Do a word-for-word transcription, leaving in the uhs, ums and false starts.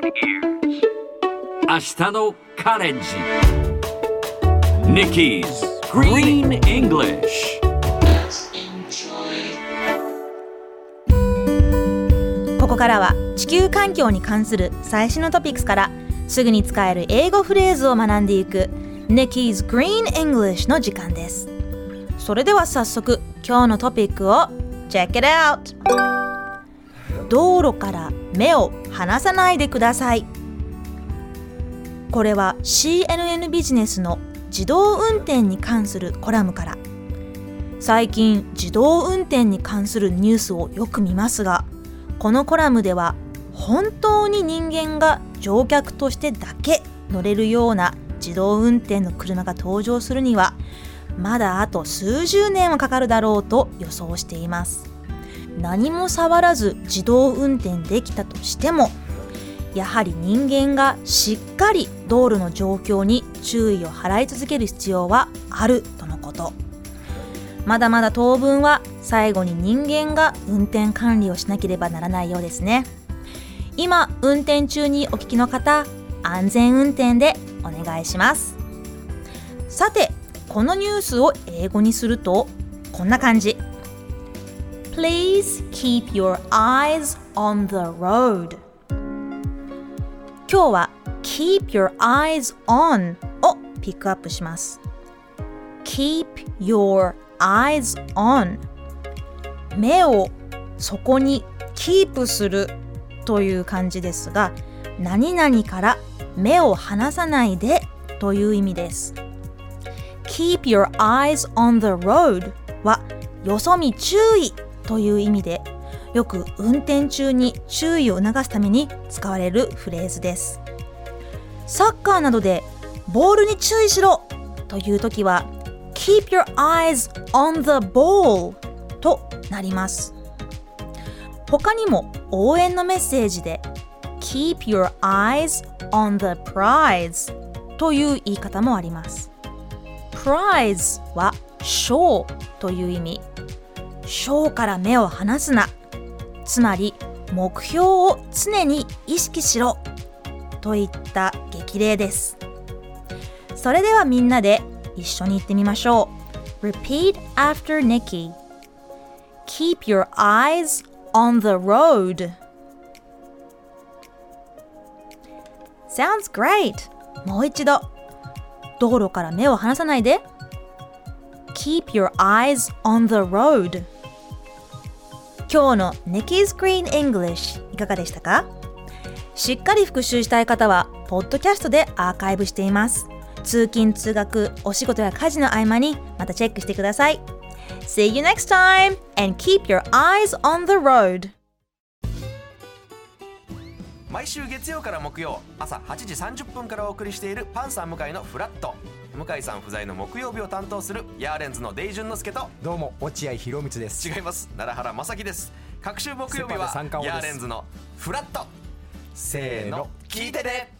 明日のカレンジ Nikki's Green English。 ここからは地球環境に関する最新のトピックスからすぐに使える英語フレーズを学んでいく Nikki's Green English の時間です。それでは早速今日のトピックを Check it out。 道路から目を離さないでください。これは シーエヌエヌ ビジネスの自動運転に関するコラムから。最近自動運転に関するニュースをよく見ますが、このコラムでは本当に人間が乗客としてだけ乗れるような自動運転の車が登場するにはまだあと数十年はかかるだろうと予想しています。何も触らず自動運転できたとしても、やはり人間がしっかり道路の状況に注意を払い続ける必要はあるとのこと。まだまだ当分は最後に人間が運転管理をしなければならないようですね。今運転中にお聞きの方、安全運転でお願いします。さて、このニュースを英語にするとこんな感じ。 Please keep your eyes on the road。 今日は Keep your eyes on をピックアップします。 Keep your eyes on、 目をそこにキープするという感じですが、何々から目を離さないでという意味です。 Keep your eyes on the road はよそ見注意という意味で、よく運転中に注意を促すために使われるフレーズです。サッカーなどでボールに注意しろというときは Keep your eyes on the ball となります。他にも応援のメッセージで Keep your eyes on the prize という言い方もあります。 Prize は賞という意味。賞から目を離すな、つまり目標を常に意識しろといった激励です。それではみんなで一緒に言ってみましょう。 Repeat after Nikki。 Keep your eyes on the road。 Sounds great。 もう一度。道路から目を離さないで。 Keep your eyes on the road。 今日の Nikki's Green English いかがでしたか？しっかり復習したい方はポッドキャストでアーカイブしています。通勤通学、お仕事や家事の合間にまたチェックしてください。 See you next time and keep your eyes on the road。 毎週月曜から木曜朝はちじさんじゅっぷんからお送りしているパンサー向井のフラット。向井さん不在の木曜日を担当するヤーレンズのデイジュンの之介と、 どうも落合博満です。 違います、奈良原正樹です。各週木曜日はヤーレンズのフラット。せーの、聞いてね。